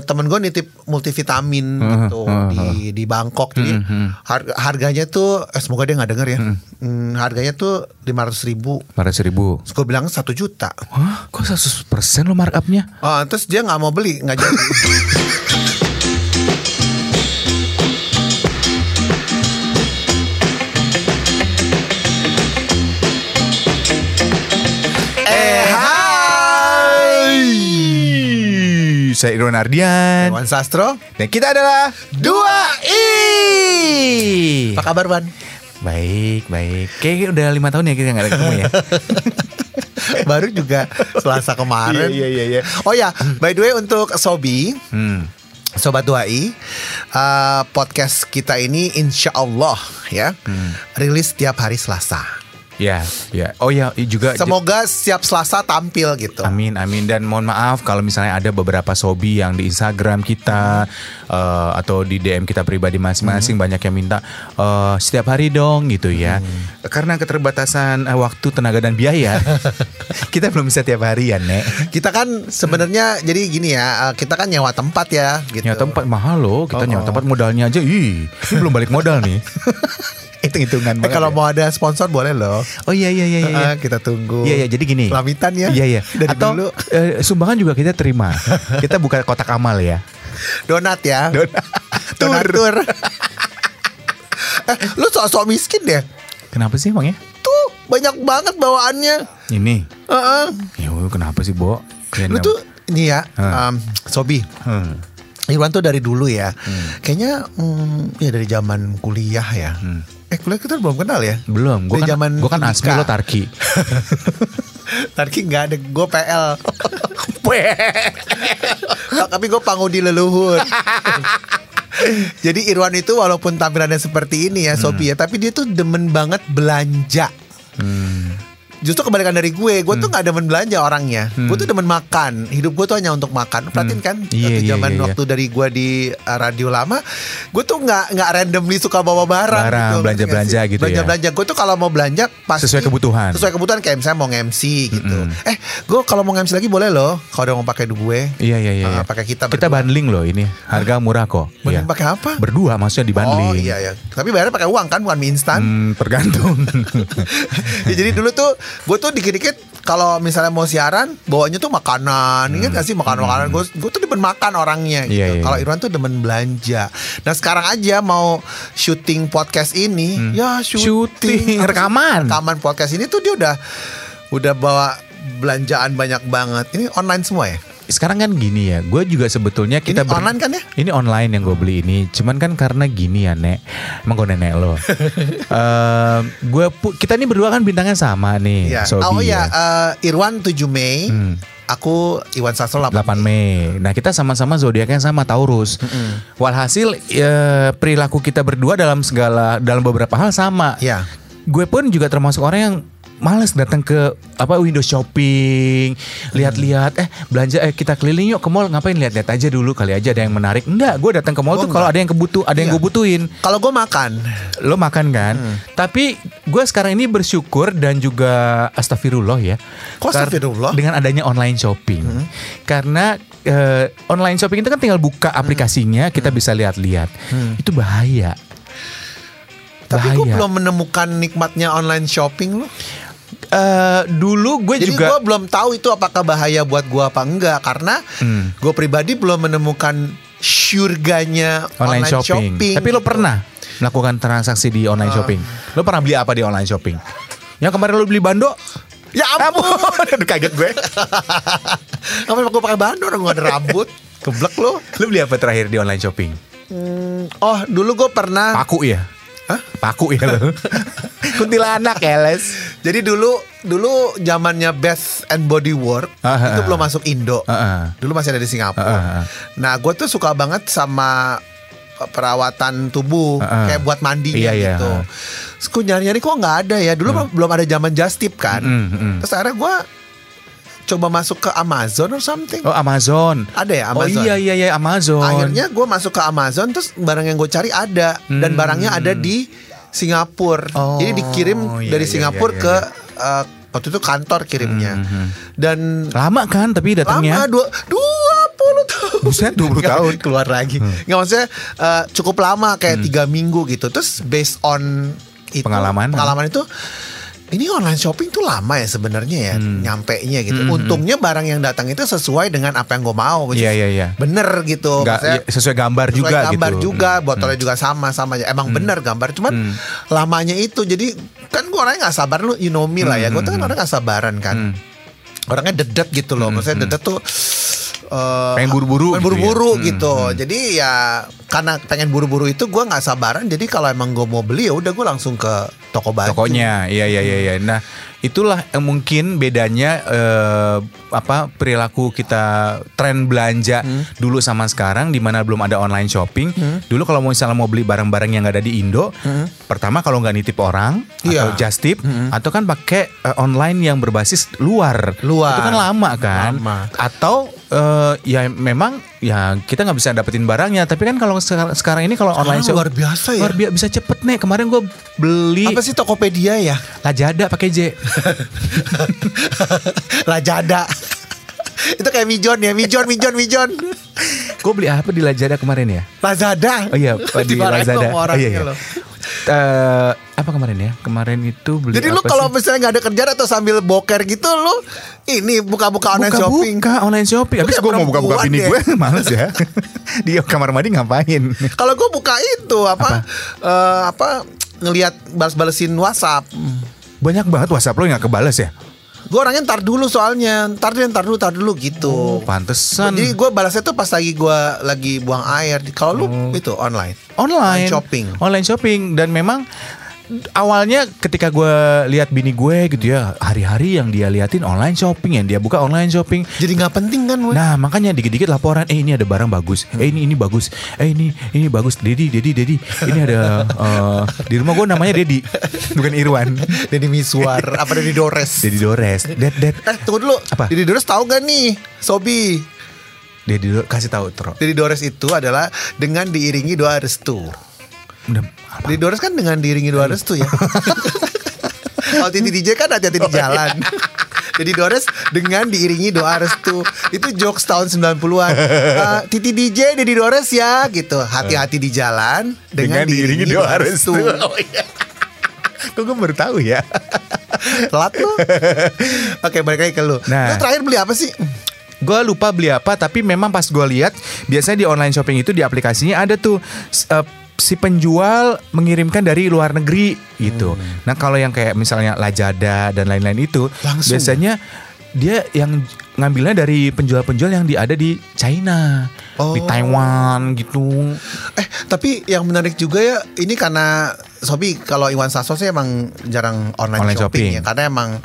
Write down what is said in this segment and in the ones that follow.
temen gue nitip multivitamin gitu di Bangkok. Jadi harganya tuh semoga dia nggak denger ya. Harganya tuh 500.000. 500.000. Terus gue bilang 1 juta. Hah? Kok 100% lo markupnya? Terus dia nggak mau beli, nggak jadi. Saya Irwan Ardian, Irwan Sastro, dan kita adalah 2i. Apa kabar, Ban? Baik. Kayaknya udah 5 tahun ya kita gak ada ketemu ya. Baru juga Selasa kemarin. Iya. Oh ya, by the way untuk Sobi, Sobat 2i, podcast kita ini insya Allah ya rilis setiap hari Selasa. Ya. Oh ya, juga semoga setiap Selasa tampil gitu. Amin. Dan mohon maaf kalau misalnya ada beberapa sobi yang di Instagram kita atau di DM kita pribadi masing-masing banyak yang minta setiap hari dong gitu ya. Karena keterbatasan waktu, tenaga dan biaya, kita belum bisa tiap hari ya, Nek. Kita kan sebenarnya jadi gini ya, kita kan nyewa tempat ya gitu. Nyewa tempat mahal loh, kita nyewa tempat modalnya aja. Ini belum balik modal nih. Hitung-hitungan banget. Kalau mau ada sponsor boleh loh. Oh iya. Kita tunggu. Iya, jadi gini. Pelamitan ya. Iya. Dari atau dulu. Sumbangan juga kita terima. Kita buka kotak amal ya. Donat ya. Donatur. Lu sok-sok miskin deh. Kenapa sih emangnya? Tuh banyak banget bawaannya. Ini. Ya kenapa sih, Bo? Lu tuh ini ya, Sobi. Irwan tuh dari dulu ya. Kayaknya ya dari zaman kuliah ya. Kuliah kita belum kenal ya? Belum. Gue kan Asmi, lo Tarki. Tarki nggak ada, gue PL. Tapi gue pangudi leluhur. Jadi Irwan itu walaupun tampilannya seperti ini ya, Sobi ya, tapi dia tuh demen banget belanja. Justru kebalikan dari gue tuh gak demen belanja orangnya. Gue tuh demen makan. Hidup gue tuh hanya untuk makan. Perhatiin kan waktu dari gue di radio lama, gue tuh gak randomly suka bawa barang gitu, belanja-belanja gitu ya. Belanja-belanja. Gue tuh kalau mau belanja pasti sesuai kebutuhan kayak misalnya mau MC gitu. Gue kalau mau MC lagi boleh loh, kalau udah mau pakai gue. Iya. Pakai kita bundling loh ini. Harga murah kok. Bundling pakai apa? Berdua maksudnya di bundling. Oh iya. Tapi bayarnya pakai uang kan, bukan mie instan. Tergantung. Ya, jadi dulu tuh gue tuh dikit-dikit kalau misalnya mau siaran bawanya tuh makanan. Ingat gak sih makanan-makanan? Gue tuh demen makan orangnya gitu. Iya. Kalau Irwan tuh demen belanja. Nah sekarang aja mau syuting podcast ini, ya syuting rekaman podcast ini tuh dia udah bawa belanjaan banyak banget. Ini online semua ya? Sekarang kan gini ya, gue juga sebetulnya kita ini online kan ya? Ini online yang gue beli ini, cuman kan karena gini ya, Nek. Emang gue nenek lo. Kita ini berdua kan bintangnya sama nih. Ya. Sobi, Irwan 7 Mei. Aku Iwan Sastro 8 Mei. Nah kita sama-sama zodiaknya sama, Taurus. Walhasil perilaku kita berdua dalam beberapa hal sama. Ya. Gue pun juga termasuk orang yang males datang ke window shopping, lihat-lihat, belanja, kita keliling yuk ke mall, ngapain, lihat-lihat aja dulu, kali aja ada yang menarik. Enggak, gue datang ke mall tuh kalau ada yang yang gue butuhin. Kalau gue makan, lo makan kan? Tapi gue sekarang ini bersyukur dan juga astagfirullah ya. Kok astagfirullah? Dengan adanya online shopping, karena online shopping itu kan tinggal buka aplikasinya, kita bisa lihat-lihat. Itu bahaya. Tapi gue belum menemukan nikmatnya online shopping loh. Dulu gue Jadi juga. Jadi gue belum tahu itu apakah bahaya buat gue apa enggak. Karena gue pribadi belum menemukan surganya online shopping. Tapi lo pernah melakukan transaksi di online shopping? Lo pernah beli apa di online shopping? Yang kemarin lo beli bando? Ya ampun. Aduh kaget gue. Ngapain gue pakai bando, orang gue ada rambut. Keblek lo. Lo beli apa terakhir di online shopping? Dulu gue pernah. Paku ya? Hah? Paku ya lo. Kuntilanak ya Les. Jadi dulu zamannya Bath and Body Works itu belum masuk Indo. Dulu masih ada di Singapura. Nah gue tuh suka banget sama perawatan tubuh, kayak buat mandinya gitu. Terus gue nyari-nyari kok nggak ada ya. Dulu belum ada zaman Just Tip kan. Terus akhirnya gue coba masuk ke Amazon or something. Oh Amazon. Ada ya Amazon. Oh iya Amazon. Akhirnya gue masuk ke Amazon, terus barang yang gue cari ada. Dan barangnya ada di Singapura. Jadi dikirim dari Singapura ke waktu itu kantor kirimnya. Dan lama kan tapi datangnya? Lama 20 tahun. Buset 20 tahun keluar lagi. Nggak, maksudnya cukup lama kayak 3 minggu gitu. Terus based on itu, pengalaman itu, ini online shopping tuh lama ya sebenarnya ya nyampenya gitu. Untungnya barang yang datang itu sesuai dengan apa yang gue mau. Iya. Bener gitu. Sesuai gambar juga gitu. Botolnya juga sama aja. Emang bener gambar. Cuman lamanya itu. Jadi kan gue orangnya gak sabar. Lu you know me lah ya. Gue tuh kan orang gak sabaran kan. Orangnya dedet gitu loh. Maksudnya dedet tuh pengen buru-buru gitu. Jadi ya karena pengen buru-buru itu gue nggak sabaran. Jadi kalau emang gue mau beli ya udah gue langsung ke toko baju. Tokonya, iya. Nah itulah mungkin bedanya perilaku kita, tren belanja dulu sama sekarang, di mana belum ada online shopping. Dulu kalau misalnya mau beli barang-barang yang nggak ada di Indo, pertama kalau nggak nitip orang atau just tip, atau kan pakai online yang berbasis luar. Itu kan lama kan. Atau ya memang ya kita nggak bisa dapetin barangnya. Tapi kan kalau sekarang ini kalau online shop luar biasa ya. Luar biasa, bisa cepet nih. Kemarin gue beli apa sih, Tokopedia ya? Lazada pakai J. Lazada. Itu kayak Mijon ya, Mijon. Gue beli apa di Lazada kemarin ya? Lazada. Oh iya, di Lazada. Iya. Apa kemarin ya? Kemarin itu beli. Jadi lu kalau misalnya nggak ada kerjaan atau sambil boker gitu, lu ini buka-buka online shopping. Buka online shopping. Habis gue mau buka-buka bini gue, males ya. Di kamar mandi ngapain? Kalau gue buka itu apa ngelihat balas-balesin WhatsApp. Banyak banget WhatsApp lo yang gak kebales ya? Gue orangnya ntar dulu soalnya. Ntar dulu gitu. Oh, pantesan. Jadi gue balasnya tuh pas lagi buang air. Kalau lu itu online shopping. Dan memang awalnya ketika gue lihat bini gue gitu ya, hari-hari yang dia liatin online shopping, yang dia buka online shopping. Jadi nggak penting kan? Nah makanya dikit-dikit laporan, ini ada barang bagus, ini bagus, ini bagus, Dedi, ini ada di rumah gue namanya Dedi, bukan Irwan. Dedi Miswar, apa Dedi Dores? Ded. Tunggu dulu. Apa? Dedi Dores tahu gak nih, Sobi? Dedi Dores kasih tahu, Tro. Dedi Dores itu adalah dengan diiringi doa restu. Dedi Dores kan dengan diiringi doa restu ya. Kalau Titi DJ kan hati-hati di jalan. Dedi Dores dengan diiringi doa restu. Itu jokes tahun 90-an. Titi DJ, Dedi Dores ya gitu. Hati-hati di jalan dengan diiringi doa restu. Oh iya. Kok gue baru tahu ya. Telat lu. Oke, balik lagi ke lu. Lu terakhir beli apa sih? Gue lupa beli apa, tapi memang pas gue lihat biasanya di online shopping itu di aplikasinya ada tuh si penjual mengirimkan dari luar negeri gitu. Nah kalau yang kayak misalnya Lazada dan lain-lain itu langsung. Biasanya dia yang ngambilnya dari penjual-penjual yang ada di China, di Taiwan gitu. Tapi yang menarik juga ya, ini karena Sobi, kalau Iwan Sasso sih emang jarang online shopping ya, karena emang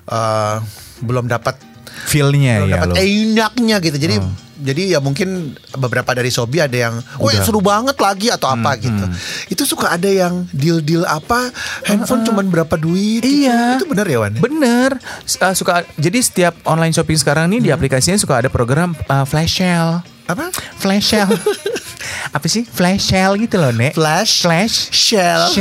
belum dapat feel-nya ya, dapat enaknya gitu. Jadi ya mungkin beberapa dari Sobi ada yang seru banget lagi atau apa gitu. Itu suka ada yang deal apa handphone cuman berapa duit. Iya. Itu benar ya, Wan? Bener. Suka. Jadi setiap online shopping sekarang nih di aplikasinya suka ada program flash sale. Apa? Flash sale. Apa sih? Flash sale gitu loh, Nek. Flash sale.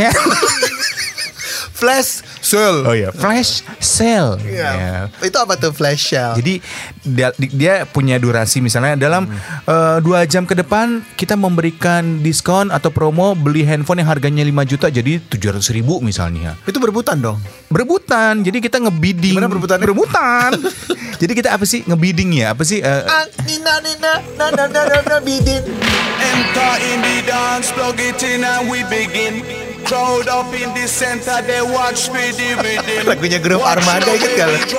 Flash sale. Oh iya, flash sale. Yeah. Itu apa tuh flash sale? Jadi dia punya durasi, misalnya dalam 2 jam ke depan kita memberikan diskon atau promo beli handphone yang harganya 5 juta jadi 700.000 misalnya. Itu berebutan dong? Berebutan. Jadi kita ngebidding. Gimana berebutannya? Berebutan. Jadi kita apa sih ngebidding ya? Apa sih? Nina bidding. Enter in the dance, plug it in and we begin. Crowd up in the center, they watch me the rhythm. Lagunya grup Armada ikut gak lo?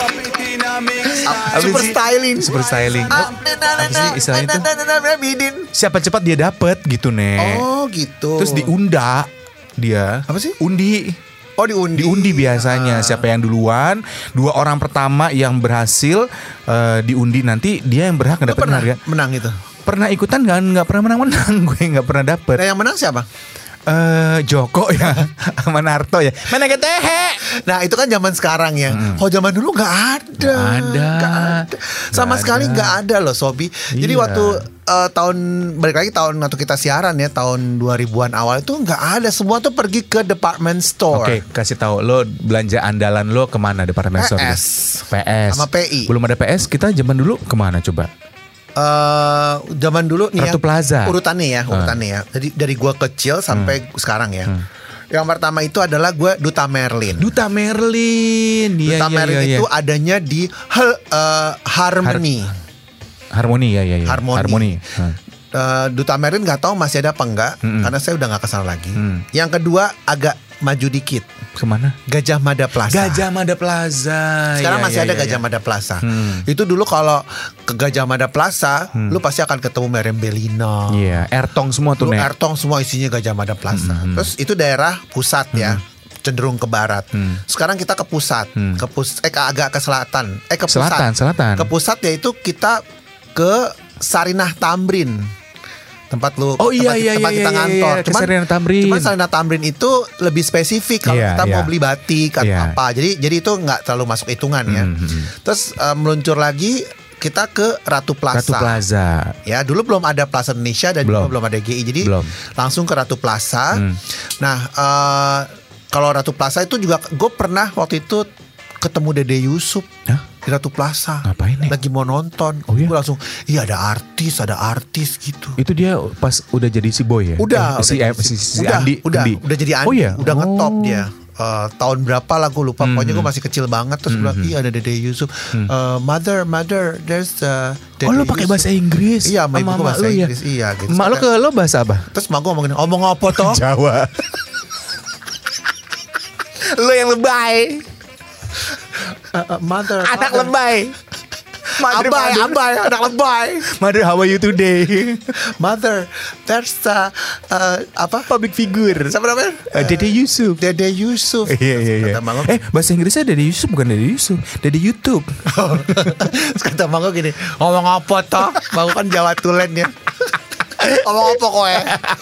Super styling. Apa sih istilahnya itu? Siapa cepat dia dapet gitu, Nek. Oh gitu. Terus diunda dia. Apa sih? Undi. Oh diundi biasanya. Siapa yang duluan, 2 orang pertama yang berhasil diundi, nanti dia yang berhak ngedapetin harga. Menang itu? Pernah ikutan nggak pernah menang. Gue nggak pernah dapet. Nah, yang menang siapa? Joko ya, sama Narto ya. Mana ketehe? Nah itu kan zaman sekarang ya. Kalau zaman dulu nggak ada. Sama sekali nggak ada loh, Sobi. Jadi waktu balik lagi tahun waktu kita siaran ya, tahun 2000-an awal itu nggak ada. Semua tuh pergi ke department store. Oke, kasih tahu lo belanja andalan lo kemana department store? PS sama PI. Belum ada PS, kita zaman dulu kemana coba? Zaman dulu nih Ratu Plaza. Urutannya ya. Jadi dari gue kecil sampai sekarang ya. Yang pertama itu adalah gue Duta Merlin. Duta Merlin itu adanya di Harmony. Harmony ya. Harmony. Duta Merlin nggak tahu masih ada apa enggak, karena saya udah nggak kesana lagi. Yang kedua agak maju dikit. Kemana? Gajah Mada Plaza. Sekarang masih ada Gajah Mada Plaza. Itu dulu kalau ke Gajah Mada Plaza, lu pasti akan ketemu Meriam Bellina. Iya, Airtong semua tuh. Airtong semua isinya Gajah Mada Plaza. Terus itu daerah pusat ya. Cenderung ke barat. Sekarang kita ke pusat, agak ke selatan. Ke pusat. Selatan. Ke pusat yaitu kita ke Sarinah Tamrin. Tempat tempat kita ngantor. Cuman Sarinah Tamrin itu lebih spesifik kalau kita mau beli batik atau apa. Jadi itu nggak terlalu masuk hitungan ya. Terus meluncur lagi kita ke Ratu Plaza. Ya, dulu belum ada Plaza Indonesia dan juga belum ada GI. Jadi langsung ke Ratu Plaza. Nah, kalau Ratu Plaza itu juga gue pernah waktu itu ketemu Dede Yusuf di Ratu Plaza. Ngapain nih? Lagi mau nonton. Gue langsung, iya ada artis gitu. Itu dia pas udah jadi si Boy ya? Udah si Andi. Udah jadi Andi. Oh iya? Udah ngetop dia. Tahun berapa lah gue lupa. Pokoknya gue masih kecil banget. Terus bilang, iya ada Dede Yusuf. Mother, there's Dede lo pakai bahasa Inggris? Iya, sama ibu gue bahasa Inggris. Iya gitu. Mak lo ke lo bahasa apa? Terus mak gue ngomong apa toh? Jawa. Lo yang lebay. Mother, anak lebay. Abai, anak lebay. Mother, how are you today? Mother, there's public figure. Siapa namanya? Dede Yusuf. Dede Yusuf. Iya. Bahasa Inggrisnya Dede Yusuf, bukan Dede Yusuf. Dede YouTube. Kata Manggo gini, ngomong apa toh? Manggo kan Jawa Tulen ya. Ngomong apa kowe?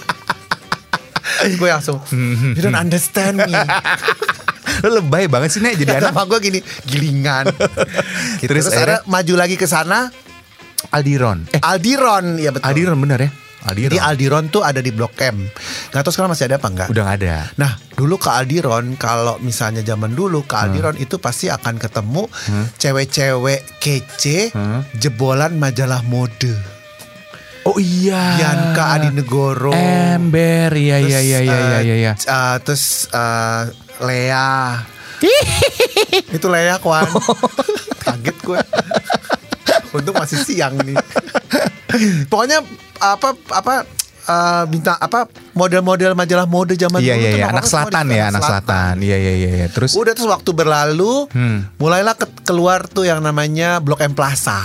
Gue langsung, you don't understand me. Lo lebay banget sih Nek jadi anak. Sama gue gini, gilingan gitu. Terus ada maju lagi ke sana, Aldiron. Aldiron, ya betul. Aldiron benar ya. Jadi Aldiron tuh ada di Blok M. Gak tau sekarang masih ada apa enggak? Udah gak ada. Nah dulu ke Aldiron, kalau misalnya zaman dulu ke Aldiron itu pasti akan ketemu cewek-cewek kece, jebolan majalah mode. Oh iya, Bianca Adinegoro, Ember, iya. Terus Lea. Itu Lea Kwan. Kaget gue. Untung masih siang nih. Pokoknya bintang model-model majalah mode zaman dulu. Iya, anak selatan ya, anak selatan. Iya. Terus waktu berlalu, mulailah keluar tuh yang namanya Blok M Plaza.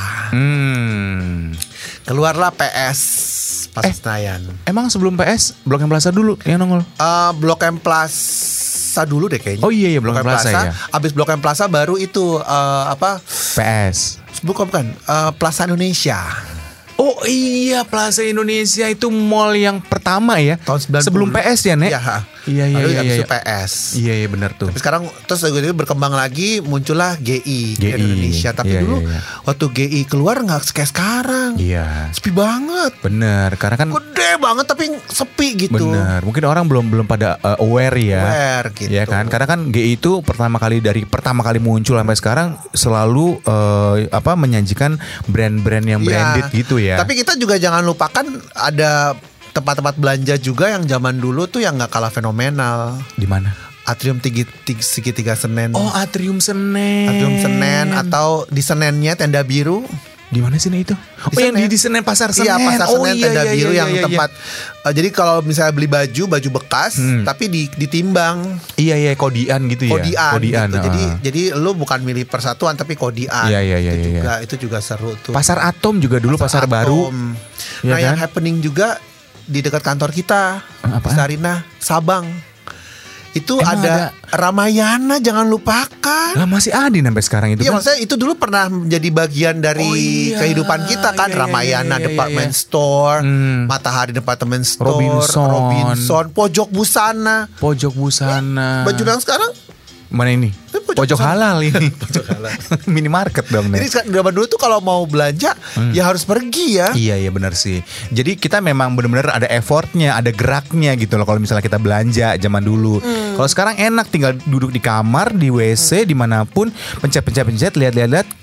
Keluarlah PS pas Senayan. Emang sebelum PS Blok M Plaza dulu yang nongol? Blok M Plaza dulu deh kayaknya. Oh iya Blok M Plaza ya. Abis Blok M Plaza baru itu PS. Bukan Plaza Indonesia. Oh iya, Plaza Indonesia itu mall yang pertama ya. Tahun 90. Sebelum PS ya, Nek? Iya. PS. Iya benar tuh. Tapi sekarang terus berkembang lagi, muncullah GI Indonesia. Tapi dulu waktu GI keluar nggak kayak sekarang. Iya. Sepi banget. Bener, karena kan gede banget tapi sepi gitu. Bener, mungkin orang belum pada aware ya. Aware gitu. Ya kan, karena kan GI itu pertama kali muncul sampai sekarang selalu menyajikan brand-brand yang branded gitu ya. Tapi kita juga jangan lupakan ada tempat-tempat belanja juga yang zaman dulu tuh yang nggak kalah fenomenal. Di mana? Atrium Segitiga Senen. Oh, Atrium Senen. Atrium Senen atau di Senennya Tenda Biru. Di mana sih itu? Yang di Senen Pasar Senen. Iya, Pasar Senen Tenda Biru yang tempat. Jadi kalau misalnya beli baju bekas, tapi ditimbang. Iya, kodian gitu ya. Kodian. Gitu. Jadi lu bukan milih persatuan tapi kodian. Iya. Itu juga seru tuh. Pasar Atom juga dulu pasar baru. Nah, yang happening juga di dekat kantor kita, Sarinah, Sabang. Itu ada Ramayana, jangan lupakan. Lah masih ada sampai sekarang itu. Iya, maksudnya itu dulu pernah menjadi bagian dari kehidupan kita kan. Ramayana Department Store, Matahari Department Store, Robinson, Pojok Busana. Baju yang sekarang mana ini? Pojok halal ini. Pojok halal. Minimarket dong. Jadi zaman dulu tuh kalau mau belanja ya harus pergi ya. Iya benar sih. Jadi kita memang benar-benar ada effortnya, ada geraknya gitu loh kalau misalnya kita belanja zaman dulu. Kalau sekarang enak tinggal duduk di kamar, di WC, dimanapun, pencet, lihat, klik,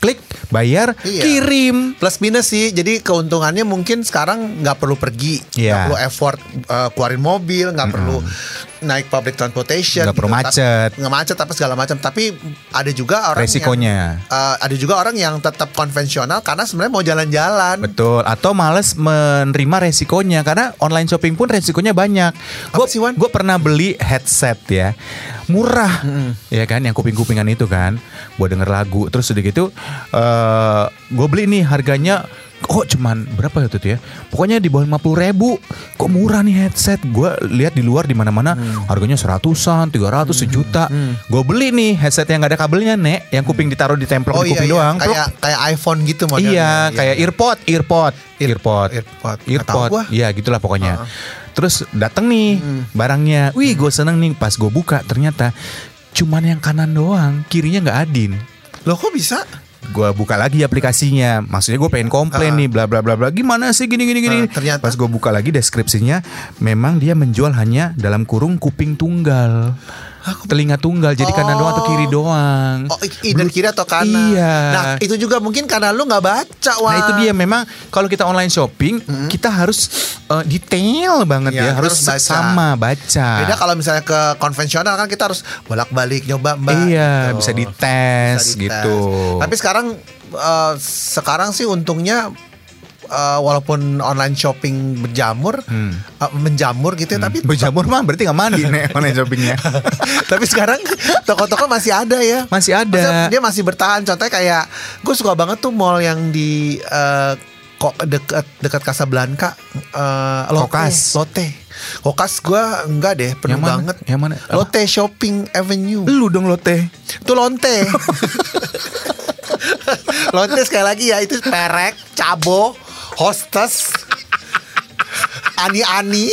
bayar, kirim. Plus minus sih. Jadi keuntungannya mungkin sekarang nggak perlu pergi, nggak perlu effort keluarin mobil, nggak perlu naik public transportation, nggak perlu macet, nggak macet apa segala macam. Tapi ada juga orang resikonya. Ada juga orang yang tetap konvensional karena sebenarnya mau jalan-jalan. Betul. Atau males menerima resikonya karena online shopping pun resikonya banyak. Gue pernah beli headset ya, murah, ya kan, yang kuping-kupingan itu kan, buat denger lagu. Terus udah gitu, gue beli nih harganya. Cuman berapa itu ya? Pokoknya di bawah 50.000. Kok murah nih headset? Gue lihat di luar di mana-mana harganya 100-an, 300, 1 juta. Gue beli nih headset yang gak ada kabelnya, Nek, yang kuping ditaruh di templok di kuping doang. Kayak iPhone gitu modelnya. Iya, kayak earpod. Iya, gitulah pokoknya. Terus dateng nih barangnya. Wih, gue seneng nih. Pas gue buka ternyata cuman yang kanan doang, kirinya nggak adin. Loh, kok bisa? Gue buka lagi aplikasinya, maksudnya gue pengen komplain nih, bla bla bla bla, gimana sih gini. Ternyata pas gue buka lagi deskripsinya, memang dia menjual hanya dalam kurung kuping tunggal, telinga tunggal, jadi kanan doang atau kiri doang. Dan kiri atau kanan. Iya. Nah itu juga mungkin karena lu nggak baca. Nah itu dia, memang kalau kita online shopping kita harus detail banget ya, harus sama baca. Beda kalau misalnya ke konvensional kan kita harus bolak-balik nyoba mbak. Iya, gitu. bisa dites gitu. Tapi sekarang sih untungnya walaupun online shopping menjamur gitu ya, tapi berjamur mah berarti nggak mandi nih online shoppingnya. Tapi sekarang toko-toko masih ada ya. Masih ada. Maksudnya dia masih bertahan. Contohnya kayak gue suka banget tuh mall yang di dekat Casablanca, Lotte. Kokas gue enggak deh, penuh banget. Yang mana? Lotte Shopping Avenue. Lu dong Lotte. Itu Lonte. Lonte sekali lagi ya, itu Perek, Cabo, Hostess, Ani.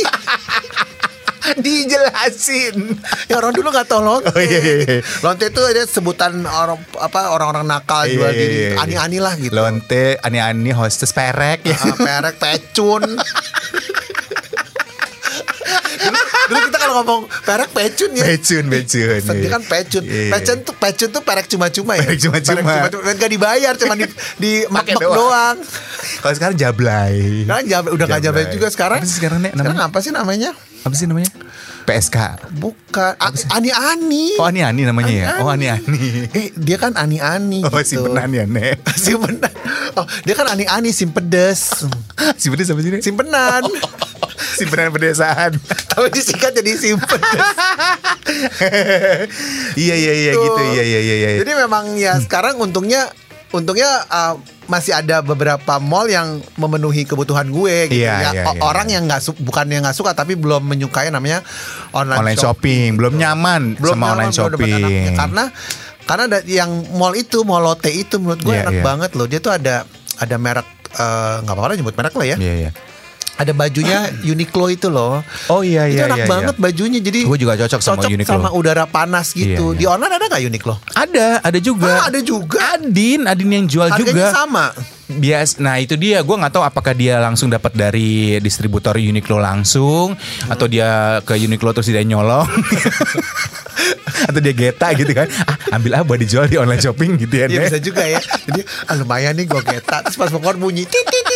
Dijelasin. Ya orang dulu nggak tahu Lonte. Iya. Lonte itu ada sebutan orang-orang nakal jual diri. Ani lah gitu. Lonte, Ani, Hostess, Perek. Perek, Pecun. Dulu kita kalau ngomong perek pecun ya. Pecun. Dia kan pecun. Pecun tuh perek cuma-cuma ya. Perek cuma-cuma. Gak dibayar, cuma di mak doang. Kalau sekarang jablay. Kan udah gak jablay juga sekarang. Apa sih sekarang, Nek? Sekarang apa sih namanya? PSK. Bukan. Ani. Oh, Ani namanya ya. Oh, Ani. Dia kan Ani gitu. Oh, simpenan ya, Nek. Simpenan. Oh, dia kan Ani simpedes. Simpedes apa sih, Nek? Simpenan. Simpenan pedesaan. Tapi disingkat jadi simpedes. Iya gitu. Iya. Jadi memang ya sekarang untungnya masih ada beberapa mall yang memenuhi kebutuhan gue gitu. Orang yang bukannya nggak suka tapi belum menyukai namanya online shopping. Belum nyaman sama online shopping. Karena ada yang mall Lotte itu menurut gue enak banget loh. Dia tuh ada merek, nggak apa-apa nyebut merek lah ya. Iya. Ada bajunya Uniqlo itu loh. Oh iya. Itu enak banget bajunya. Jadi gue juga cocok sama Uniqlo. Sama udara panas gitu. Di online ada gak Uniqlo? Ada juga. Ada juga. Adin yang jual harganya juga. Sama. Nah itu dia, gue nggak tahu apakah dia langsung dapat dari distributor Uniqlo langsung atau dia ke Uniqlo terus dia nyolong. Atau dia geta gitu kan, ambil buat dijual di online shopping gitu ya. Iya bisa juga ya. Jadi lumayan nih gue geta. Terus pas pokoknya bunyi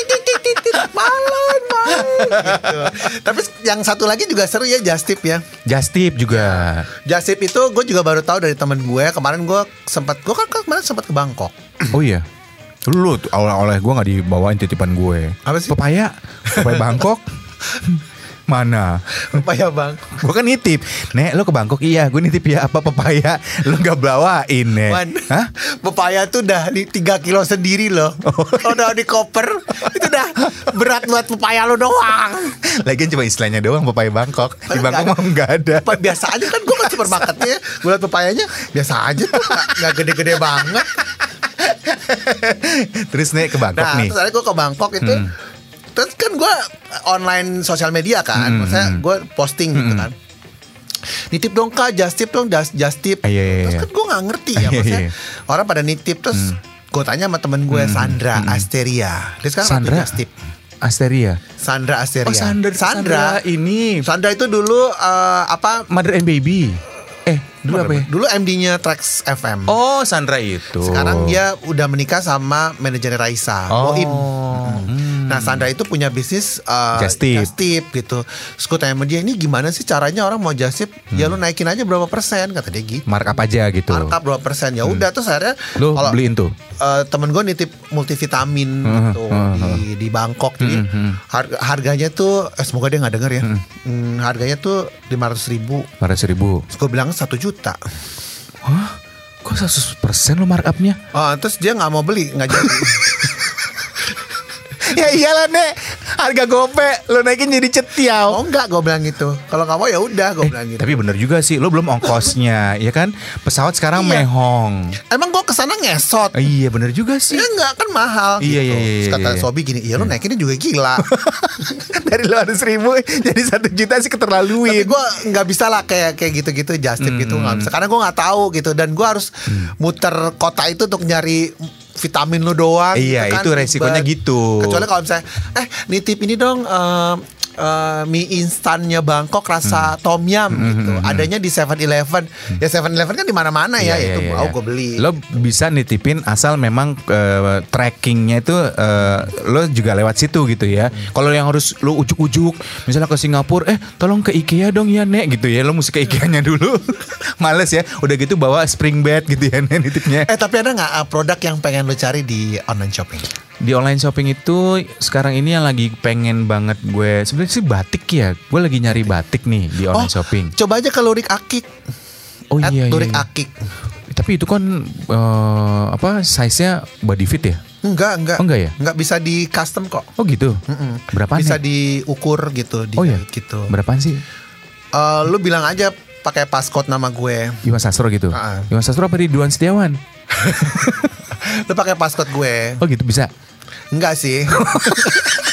malon gitu. Tapi yang satu lagi juga seru ya, Just Tip ya. Just Tip juga. Just Tip itu gue juga baru tahu dari temen gue. Kemarin gue kemarin sempat ke Bangkok. Oh iya. Lu oleh gue nggak dibawain titipan gue. Apa sih? Papaya Bangkok. Mana? Papaya Bang. Gue kan nitip. Nek lo ke Bangkok, iya gue nitip ya apa papaya. Lo gak bawain, Nek. Hah? Papaya tuh udah di 3 kilo sendiri loh. Udah di koper. Itu udah berat buat papaya lo doang. Lagian cuma istilahnya doang papaya Bangkok. Di Bangkok mah gak ada. Biasa aja kan, gue kan supermarketnya. Gue liat papayanya biasa aja tuh. Gak gede-gede banget. Terus Nek ke Bangkok nih. Terus ada gue ke Bangkok itu. Terus kan gue online sosial media kan, maksudnya gue posting gitu kan. Nitip dong kak, just tip dong, just tip. Terus kan gue nggak ngerti ya, maksudnya orang pada nitip. Terus gue tanya sama temen gue Sandra Asteria. Dia sekarang Sandra just tip. Sandra Asteria. Oh Sandra ini. Sandra itu dulu Mother and Baby. Dulu apa ya? Dulu MD-nya Trax FM. Oh, Sandra itu. Sekarang dia udah menikah sama manajernya Raisa, Boim. Nah, Sandra itu punya bisnis Just tip gitu. Terus gue tanya sama dia, ini gimana sih caranya orang mau just tip? Ya lu naikin aja berapa persen, kata dia gitu. Markup aja gitu. Markup berapa persen. Ya udah terus akhirnya lu beliin tuh. Temen gue nitip multivitamin gitu di Bangkok. Jadi harganya tuh semoga dia nggak denger ya. Harganya tuh 500.000. 500.000. Terus gue bilang 1 juta. Hah? Kok 100% lo markupnya? Terus dia nggak mau beli, nggak jadi. Ya iyalah Nek, harga gope lo naikin jadi cetiau. Oh enggak, gue bilang gitu. Kalau nggak mau ya udah, gue bilang gitu. Tapi bener juga sih, lo belum ongkosnya, ya kan? Pesawat sekarang mehong. Emang gue kesana ngesot. Iya bener juga sih. Ya enggak, kan mahal gitu. Iya. Terus kata Sobi gini, iya lo naikinnya juga gila. Dari 500.000 jadi 1 juta sih keterlaluin. Tapi gue nggak bisa lah kayak gitu-gitu, just tip gitu nggak bisa. Karena gue nggak tahu gitu, dan gue harus muter kota itu untuk nyari vitamin lu doang. Iya gitu kan. itu resikonya gitu. Kecuali kalau misalnya nitip ini dong mie instannya Bangkok rasa tom yum gitu. Adanya di 7-Eleven. Ya 7-Eleven kan di mana-mana ya. Itu mau gue beli. Lo bisa nitipin asal memang trackingnya itu lo juga lewat situ gitu ya. Kalau yang harus lo ujuk-ujuk, misalnya ke Singapura, tolong ke IKEA dong ya Nek gitu ya. Lo mesti ke IKEA-nya dulu. Males ya. Udah gitu bawa spring bed gitu ya Nek nitipnya. Tapi ada nggak produk yang pengen lo cari di online shopping? Di online shopping itu sekarang ini yang lagi pengen banget gue sebenarnya sih batik ya. Gue lagi nyari batik nih di online shopping. Coba aja ke Lurik Akik. Oh iya. Lurik Akik. Tapi itu kan size-nya body fit ya? Enggak. Oh enggak ya? Enggak, bisa di custom kok. Oh gitu. Berapaan? Bisa diukur gitu. Gitu. Berapaan sih? Lu bilang aja pakai passcode nama gue. Iwan Sastro gitu. Iwan Sastro apa Ridwan Setiawan? Lu pakai passcode gue. Oh gitu bisa. Enggak sih.